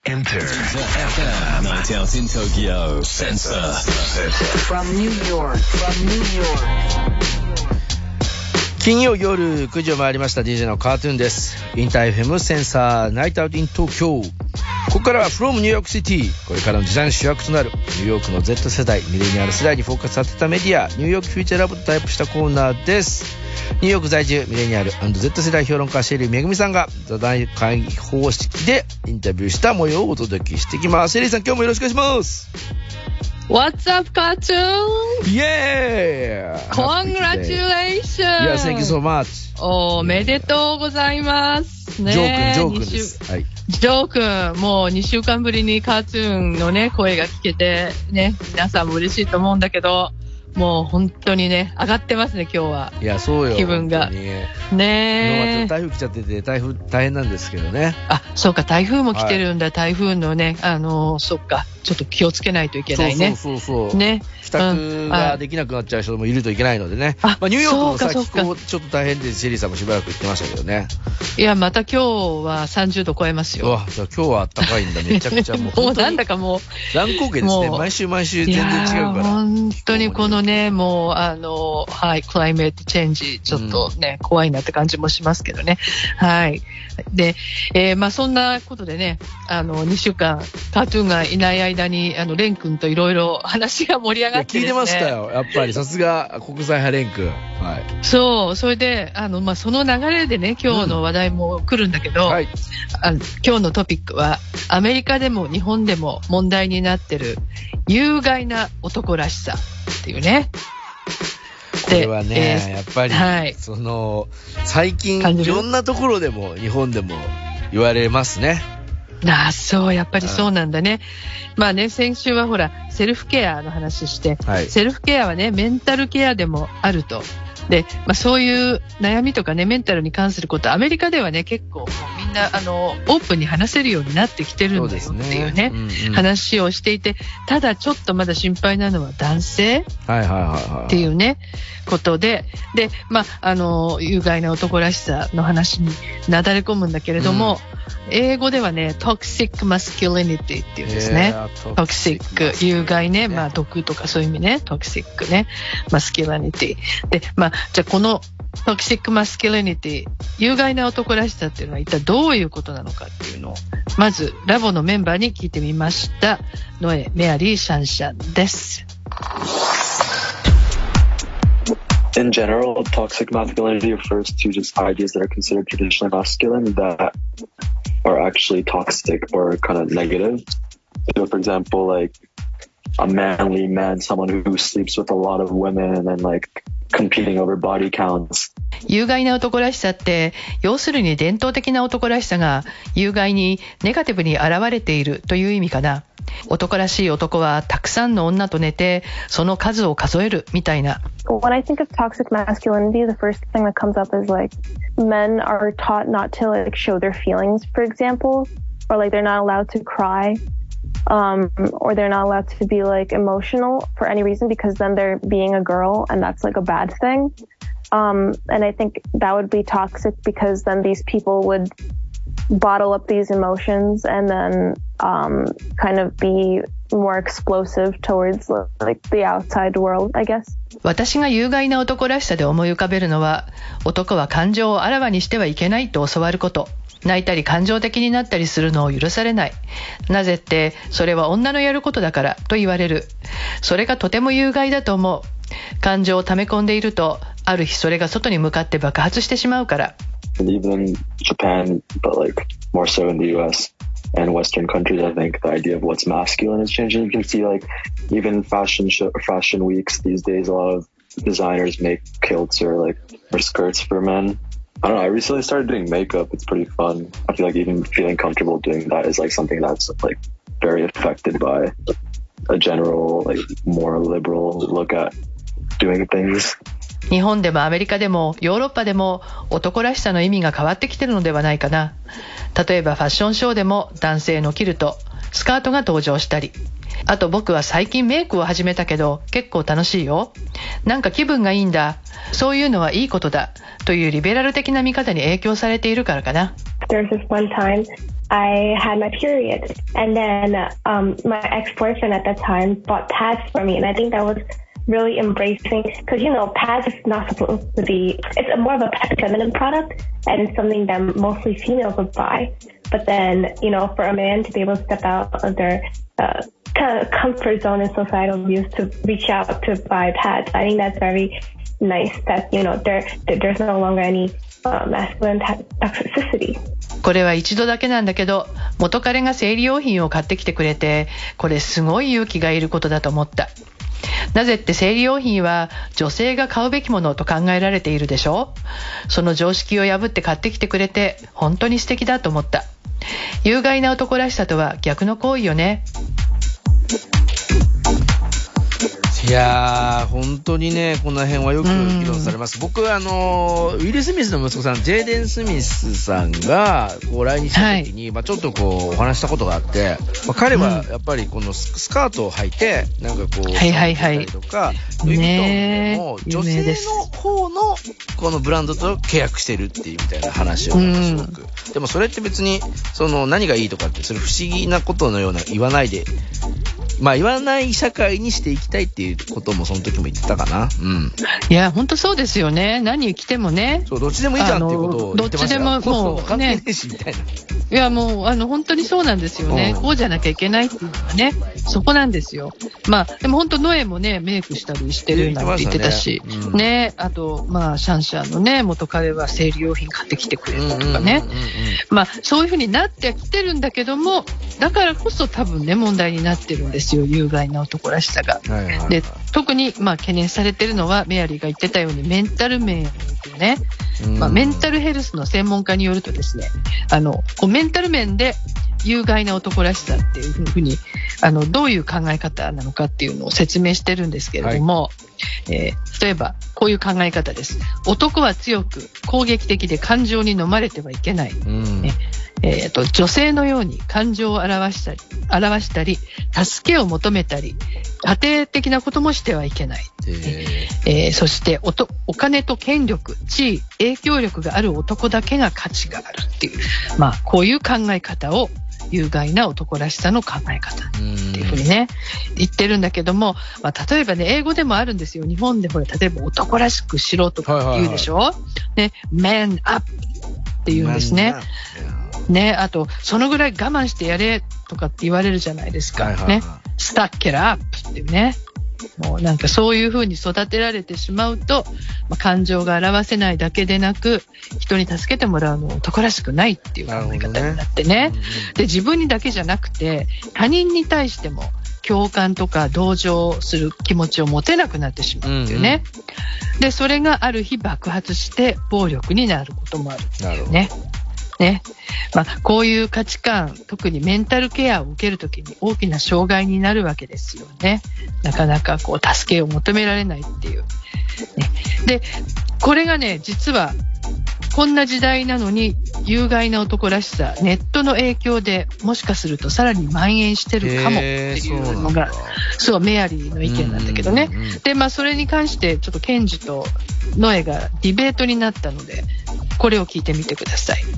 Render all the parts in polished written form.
Enter FM Night Out in Tokyo Sensor From New York 金曜夜9時を回りました。 DJ のカートゥーンです。インター FM センサーナイトアウトイン東京。ここからは From New York City、 これからの時代の主役となるニューヨークの Z 世代ミレニアル世代にフォーカスさせたメディア、ニューヨークフューチャーラボとタイプしたコーナーです。ニューヨーク在住ミレニアル&Z 世代評論家シェリーめぐみさんが座談会方式でインタビューした模様をお届けしていきます。シェリーさん、今日もよろしくお願いします。 What's up, cartoon? Yeah! Congratulations! Yeah, thank you so much. おめでとうございますね。 ジョー君です。はい。 ジョー君、もう2週間ぶりにカートゥーンのね、声が聞けて、ね、皆さんも嬉しいと思うんだけど、もう本当にね、上がってますね、今日は。 いや、そうよ。 気分が。ねえ。 台風来ちゃってて、台風大変なんですけどね。 あ、そうか、台風も来てるんだ、 はい、 台風のね、そっか、ちょっと気をつけないといけないね。 そう。 ね。 帰宅ができなくなっちゃう人もいるといけないのでね。まあ、ニューヨークもさ、気候ちょっと大変で、シェリーさんもしばらく言ってましたけどね。 いや、また今日は30度超えますよ。 うわ、じゃあ今日は暖かいんだ、めちゃくちゃもう。 もうなんだかもう。 乱高下ですね。毎週全然違うから。 本当にこのね、もう、はい、クライメートチェンジ、ちょっとね、怖いなって感じもしますけどね。はい。で、まあそんなことでね、2週間、カートゥーンがいない間に、レン君といろいろ話が盛り上がってですね。 聞いてましたよ。やっぱり、さすが国際派レン君。はい。 そう、それで、まあその流れでね、今日の話題も来るんだけど、はい、今日のトピックは、アメリカでも日本でも問題になってる、有害な男らしさっていうね。 これはね、やっぱり、 はい、 最近いろんなところでも日本でも言われますね。 そう、やっぱりそうなんだね。まあね、先週はほら、セルフケアの話して、はい、セルフケアはね、メンタルケアでもあると。で、まあそういう悩みとかね、メンタルに関すること、アメリカではね、結構みんな、オープンに話せるようになってきてるんだよっていうね、話をしていて、ただちょっとまだ心配なのは男性っていうね、ことで、で、まあ、有害な男らしさの話になだれ込むんだけれども、英語ではね、toxic masculinity っていうんですね。toxic、有害ね、まあ毒とかそういう意味ね、toxic ね、masculinity。で、まあ、じゃあこの toxic masculinity、有害な男らしさっていうのは一体どういうことなのかっていうのを、まずラボのメンバーに聞いてみました。ノエ・メアリー・シャンシャンです。 In general, toxic masculinity refers to just ideas that are considered traditionally masculine that are actually toxic or kind of negative. So, for example, like a manly man, someone who sleeps with a lot of women and like competing over body counts. 有害な男らしさって、要するに伝統的な男らしさが有害にネガティブに現れているという意味かな。男らしい男はたくさんの女と寝てその数を数えるみたいな。 When I think of toxic masculinity, the first thing that comes up is like men are taught not to like show their feelings, for example, or like they're not allowed to cry, or they're not allowed to be like emotional for any reason because then they're being a girl and that's like a bad thing. And I think that would be toxic because then these people would bottle up these emotions and then kind of be more explosive towards like the outside world, I guess. 私が有害な男らしさで思い浮かべるのは、男は感情をあらわにしてはいけないと教わること。泣いたり感情的になったりするのを許されない。なぜって、それは女のやることだからと言われる。それがとても有害だと思う。感情を溜め込んでいると、ある日それが外に向かって爆発してしまうから。 Even in Japan, but like more so in the US and Western countries, I think the idea of what's masculine is changing. You can see like even fashion weeks these days, a lot of designers make kilts or skirts for men. I don't know. I recently started doing makeup. It's pretty fun. I feel like even feeling comfortable doing that is like something that's like very affected by a general like more liberal look at doing things. 日本でもアメリカでもヨーロッパでも男らしさの意味が変わってきてるのではないかな。例えばファッションショーでも男性のキルト、スカートが登場したり。あと僕は最近メイクを始めたけど結構楽しいよ。なんか気分がいいんだ。そういうのはいいことだ。というリベラル的な見方に影響されているからかな。 There's this one time I had my period. And then my ex-boyfriend at that time bought pads for me. And I think that was really embracing, because, you know, pads is not supposed to be, it's more of a feminine product and something that mostly females would buy. But then, you know, for a man to be able to step out of their kind of comfort zone and societal views to reach out to buy pads, I think that's very nice that, you know, there's no longer any masculine toxicity. これは一度だけなんだけど、元彼が生理用品を買ってきてくれて、これすごい勇気がいることだと思った。なぜって生理用品は女性が買うべきものと考えられているでしょ。その常識を破って買ってきてくれて本当に素敵だと思った。有害な男らしさとは逆の行為よね。 いやー、本当にね、この辺はよく議論されます。僕はウィル・スミスの息子さん、ジェイデン・スミスさんがこう来日した時に、ちょっとこうお話したことがあって、彼はやっぱりこのスカートを履いて、なんかこう、たりとか、ルイ・ヴィトンも女性の方のこのブランドと契約してるっていうみたいな話をすごく。でもそれって別に、何がいいとかって、それ不思議なことのような言わないで、言わない社会にしていきたいっていうこともその時も言ってたかな。うん。 いや、本当そうですよね。何着てもね。 そう、どっちでもいいじゃんっていうことを言ってましたよ。 どっちでももうね。 関係ねえしみたいな。 いや、もう本当にそうなんですよね。こうじゃなきゃいけないっていうのはね、そこなんですよ。でも本当ノエもね、メイクしたりしてるなんて言ってたし、ね、あとシャンシャンのね、元彼は生理用品買ってきてくれたとかね。そういう風になってきてるんだけども、だからこそ多分ね、問題になってるんですよ。有害な男らしさが。で、特に懸念されてるのは、メアリーが言ってたようにメンタル面ですよね。メンタルヘルスの専門家によるとですね、メンタル面で有害な男らしさっていうふうにどういう考え方なのかっていうのを説明してるんですけれども、例えばこういう考え方です。男は強く攻撃的で感情に飲まれてはいけない、女性のように感情を表したり助けを求めたり家庭的なこともしてはいけない、そしてお金と権力、地位、影響力がある男だけが価値があるっていう、こういう考え方を有害な男らしさの考え方っていうふうにね言ってるんだけども、例えばね、英語でもあるんですよ。日本でほら、例えば男らしくしろとか言うでしょ、ね、man up って言うんですね。ね、あとそのぐらい我慢してやれとかって言われるじゃないですか、ね、stuck it up っていうね、もうなんかそういう風に育てられてしまうと、感情が表せないだけでなく人に助けてもらうのは男らしくないっていう考え方になってね、で自分にだけじゃなくて他人に対しても共感とか同情する気持ちを持てなくなってしまうっていうね、でそれがある日爆発して暴力になることもあるっていうね。こういう価値観、特にメンタルケアを受けるときに大きな障害になるわけですよね。なかなかこう助けを求められないっていう、でこれがね、実はこんな時代なのに有害な男らしさ、ネットの影響でもしかするとさらに蔓延してるかもっていうのがそうメアリーの意見なんだけどね。でそれに関してちょっとケンジとノエがディベートになったので、これを聞いてみてください。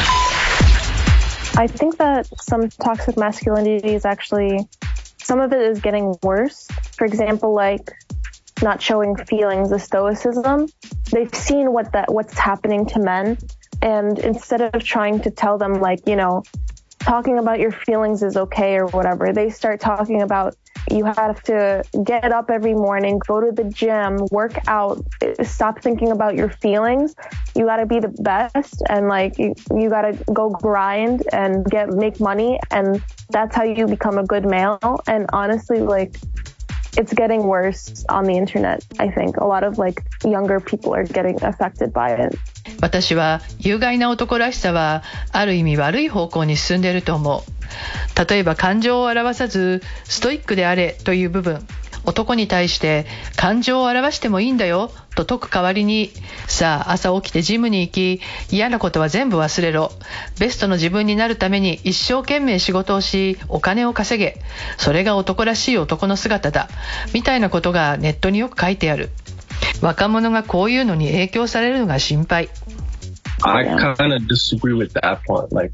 I think that some toxic masculinity is actually, some of it is getting worse. For example, like not showing feelings, the stoicism. They've seen what's happening to men, and instead of trying to tell them, like, you know, talking about your feelings is okay or whatever, they start talking about you have to get up every morning, go to the gym, work out, stop thinking about your feelings. You got to be the best, and like you got to go grind and make money, and that's how you become a good male. And honestly, like, it's getting worse on the internet. I think a lot of like younger people are getting affected by it. 私は有害な男らしさはある意味悪い方向に進んでいると思う。例えば感情を表さずストイックであれという部分、男に対して感情を表してもいいんだよと説く代わりに、さあ朝起きてジムに行き、嫌なことは全部忘れろ、ベストの自分になるために一生懸命仕事をしお金を稼げ、それが男らしい男の姿だみたいなことがネットによく書いてある。若者がこういうのに影響されるのが心配。 I kind of disagree with that point. Like,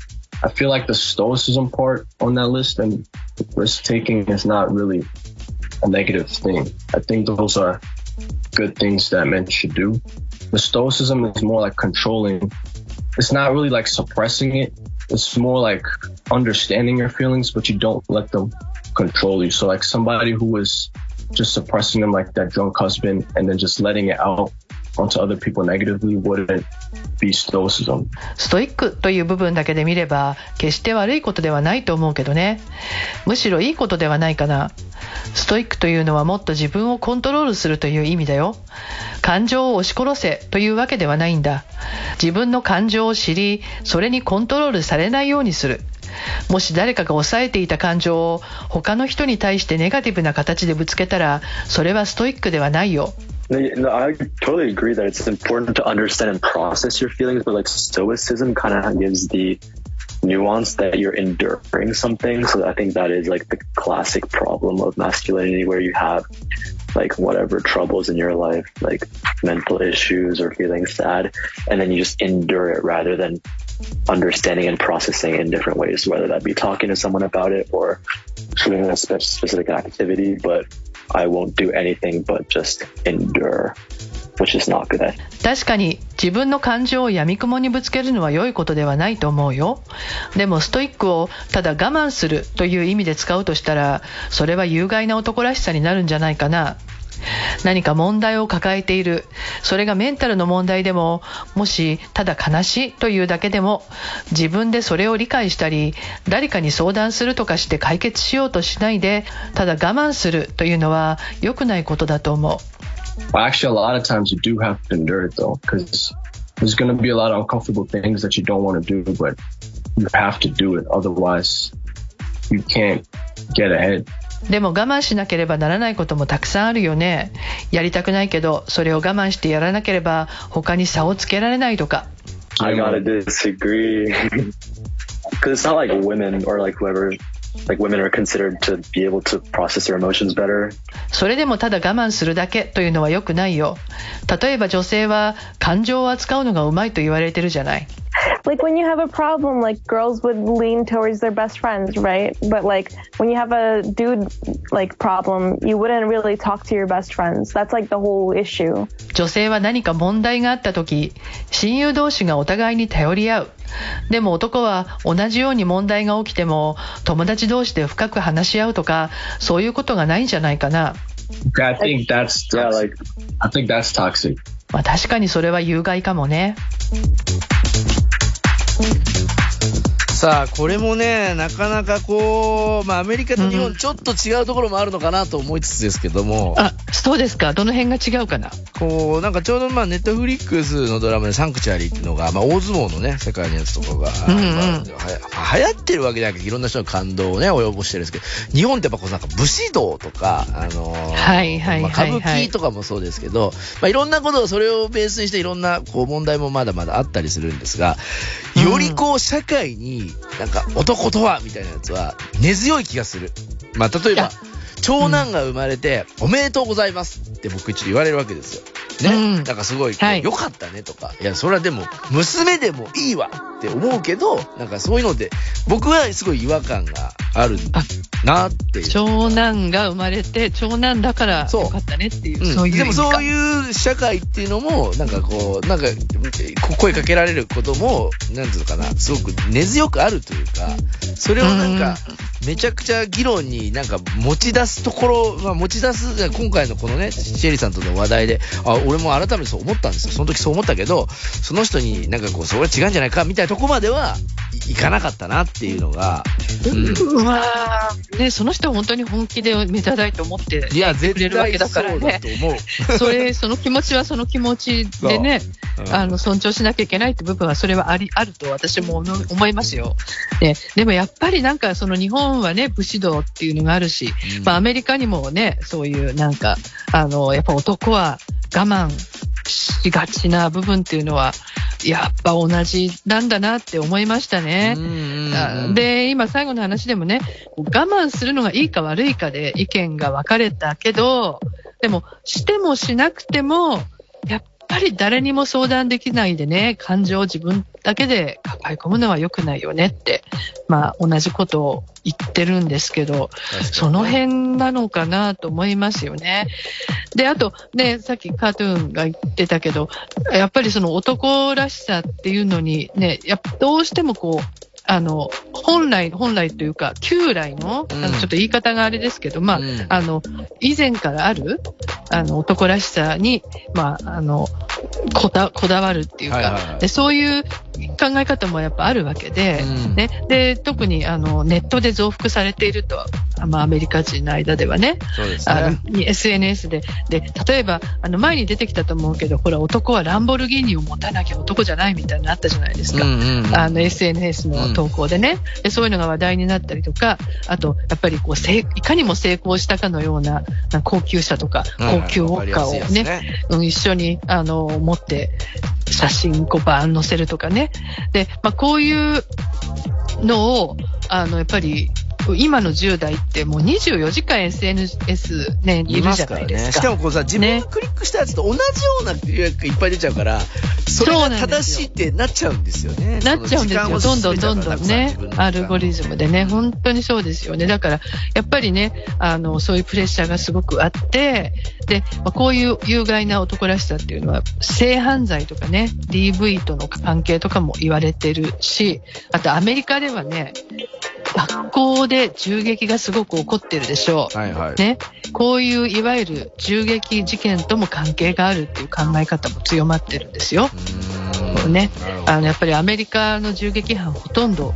I feel like the stoicism part on that list and risk taking is not really a negative thing. I think those are good things that men should do. The stoicism is more like controlling. It's not really like suppressing it. It's more like understanding your feelings, but you don't let them control you. So like somebody who is just suppressing them, like that drunk husband, and then just letting it out onto other people negatively wouldn't be stoicism. ストイックという部分だけで見れば決して悪いことではないと思うけどね。むしろいいことではないかな。ストイックというのはもっと自分をコントロールするという意味だよ。感情を押し殺せというわけではないんだ。自分の感情を知り、それにコントロールされないようにする。もし誰かが抑えていた感情を他の人に対してネガティブな形でぶつけたら、それはストイックではないよ。 No, I totally agree that it's important to understand and process your feelings, but like stoicism kind of gives the nuance that you're enduring something. So I think that is like the classic problem of masculinity, where you have like whatever troubles in your life, like mental issues or feeling sad, and then you just endure it rather than understanding and processing in different ways, whether that be talking to someone about it or doing a specific activity. But I won't do anything but just endure, which is not good. 確かに自分の感情を闇雲にぶつけるのは良いことではないと思うよ。でもストイックをただ我慢するという意味で使うとしたら、それは有害な男らしさになるんじゃないかな。何か問題を抱えている、それがメンタルの問題でも、もしただ悲しいというだけでも、自分でそれを理解したり、誰かに相談するとかして解決しようとしないで、ただ我慢するというのは良くないことだと思う。 Well, actually, a lot of times you do have to endure it though, because there's going to be a lot of uncomfortable things that you don't want to do, but you have to do it. Otherwise, you can't get ahead. でも我慢しなければならないこともたくさんあるよね。やりたくないけど、それを我慢してやらなければ他に差をつけられないとか。 I gotta disagree. Because it's not like women or like whoever, like women are considered to be able to process their emotions better. それでもただ我慢するだけというのは良くないよ。例えば女性は感情を扱うのがうまいと言われてるじゃない。 Like when you have a problem, like girls would lean towards their best friends, right? But like when you have a dude like problem, you wouldn't really talk to your best friends. That's like the whole issue. 女性は何か問題があった時、親友同士がお互いに頼り合う。でも男は同じように問題が起きても友達同士で深く話し合うとか、そういうことがないんじゃないかな。 I think that's toxic. I think that's toxic. まあ確かにそれは有害かもね。 さあこれもね、なかなかこう、アメリカと日本ちょっと違うところもあるのかなと思いつつですけども、 あ、そうですか。どの辺が違うかな。 こうなんかちょうどネットフリックスのドラマでサンクチュアリーっていうのが、大相撲のね世界のやつとかが、流行ってるわけじゃなくていろんな人の感動をね及ぼしてるんですけど、日本ってやっぱこうなんか武士道とか歌舞伎とかもそうですけど、いろんなことをそれをベースにしていろんなこう問題もまだまだあったりするんですが、よりこう社会になんか男とはみたいなやつは根強い気がする。例えば長男が生まれて、おめでとうございますって僕一応言われるわけですよね。なんかすごい良かったねとか、いやそれはでも娘でもいいわって思うけど、なんかそういうので僕はすごい違和感があるなっていう。 長男が生まれて長男だから良かったねっていう、そういう意味か。でもそういう社会っていうのもなんかこうなんか声かけられることもなんていうのかな、すごく根強くあるというか、それをなんかめちゃくちゃ議論になんか持ち出すところ、持ち出す今回のこのねシェリーさんとの話題で、俺も改めてそう思ったんですよ。その時そう思ったけど、その人になんかこうそれは違うんじゃないかみたいなとこまではいかなかったなっていうのが、 ね、その人は本当に本気で目立たいと思ってくれるわけだからね。その気持ちはその気持ちでね、尊重しなきゃいけないって部分はそれはあると私も思いますよ。でもやっぱりなんかその日本はね武士道っていうのがあるし、アメリカにもねそういうなんかやっぱ男は我慢しがちな部分っていうのはやっぱ同じなんだなって思いましたね。で、今最後の話でもね、我慢するのがいいか悪いかで意見が分かれたけど、でもしてもしなくてもやっぱり誰にも相談できないでね、感情を自分だけで抱え込むのは良くないよねって、まあ同じことを言ってるんですけど、その辺なのかなと思いますよね。で、あとね、さっきカートゥーンが言ってたけど、やっぱりその男らしさっていうのにね、どうしてもこう、本来というか、旧来の、ちょっと言い方があれですけど、まあ、以前からある、男らしさに、まあ、こだわるっていうか、で、そういう考え方もやっぱあるわけで、ね。で、特に、ネットで増幅されていると、まあ、アメリカ人の間ではね。そうですね。SNS で。で、例えば、前に出てきたと思うけど、ほら、男はランボルギーニを持たなきゃ男じゃないみたいなのあったじゃないですか。SNS の投稿でね。で、そういうのが話題になったりとか、あと、やっぱりこう、いかにも成功したかのような、高級車とか、高級ウォッカをね、一緒に、持って、写真こうバーン載せるとかね。で、まあ、こういうのを、やっぱり、今の10代ってもう24時間 SNS ね、いるじゃないですか。 しかもこうさ、自分がクリックしたやつと同じような予約がいっぱい出ちゃうから、それが正しいってなっちゃうんですよね。 なっちゃうんですよ。どんどんね、アルゴリズムでね、本当にそうですよね。だから、やっぱりね、そういうプレッシャーがすごくあって、で、まあ、こういう有害な男らしさっていうのは、性犯罪とかね、DV との関係とかも言われてるし、あとアメリカではね、学校で銃撃がすごく起こってるでしょう。はいはい。ね。こういういわゆる銃撃事件とも関係があるっていう考え方も強まってるんですよ。ね。やっぱりアメリカの銃撃犯ほとんど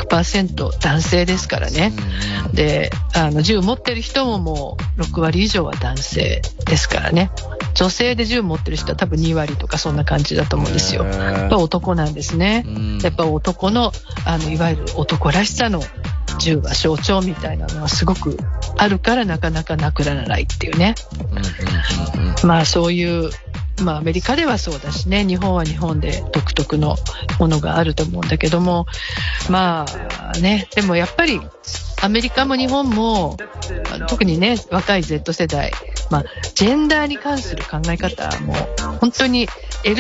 100% 男性ですからね。で、銃持ってる人ももう6割以上は男性ですからね。女性で銃持ってる人は多分2割とかそんな感じだと思うんですよ。やっぱ男なんですね。やっぱ男の、いわゆる男らしさの銃は象徴みたいなのはすごくあるからなかなかなくならないっていうね。まあそういう、まあアメリカではそうだしね、日本は日本で独特のものがあると思うんだけども、まあね、でもやっぱりアメリカも日本も特にね、若い Z 世代、まあジェンダーに関する考え方も本当に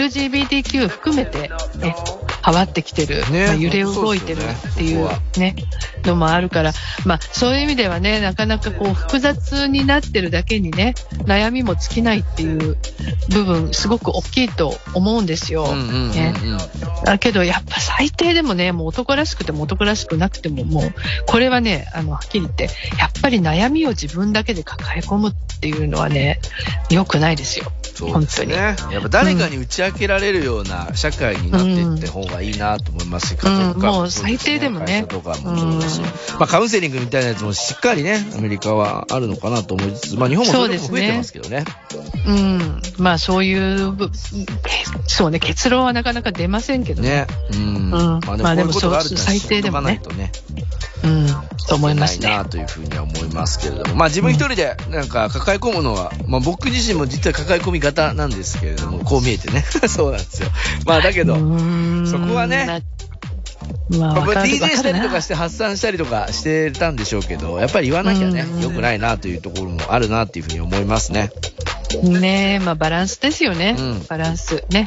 LGBTQ 含めてね、変わってきてる、ね、まあ、揺れ動いてるっていうね、のもあるから、まあそういう意味ではね、なかなかこう複雑になってるだけにね、悩みも尽きないっていう部分すごく大きいと思うんですよ。ね。だけどやっぱ最低でもね、もう男らしくても男らしくなくてももうこれはね、はっきり言ってやっぱり悩みを自分だけで抱え込むっていうのはね、良くないですよ。 そうですね。本当に。やっぱ誰かに打ち明けられるような社会になっていって方がいいなと思いますし、家族かもう最低でもね。 会社とかもそうだし、まあカウンセリングみたいなやつもしっかりね、アメリカはあるのかなと思いつつ、まあ日本もそういうのも増えてますけどね。 まあそういう、そうね、結論はなかなか出ませんけどね。まあでもそう最低でもね。と思いますね。 ないなというふうには思いますけれども、まあ自分一人でなんか抱え込むのは、まあ僕自身も実は抱え込み型なんですけれども、こう見えてね、そうなんですよ。まあだけど、そこはね、まあ、DJ したりとかして発散したりとかしてたんでしょうけど、やっぱり言わなきゃね、良くないなというところもあるなというふうに思いますね。 ねえ、まあバランスですよね。バランスね。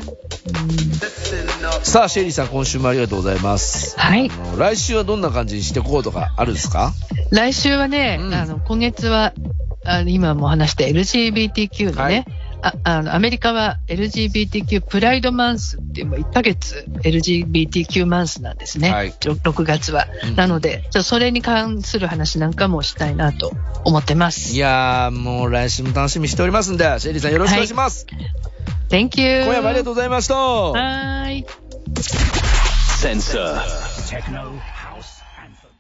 さあシェリーさん、今週もありがとうございます。 はい。 来週はどんな感じにしていこうとかあるんですか？ 来週はね、今月は今も話した LGBTQ のね、アメリカは LGBTQ プライドマンスっていう1ヶ月 LGBTQ マンスなんですね。はい、6月は。なので、それに関する話なんかもしたいなと思ってます。 いやー、もう来週も楽しみにしておりますんで、シェリーさんよろしくお願いします。 はい、Thank you。 今夜もありがとうございました。 はい。 Sensor. Techno House Anthem.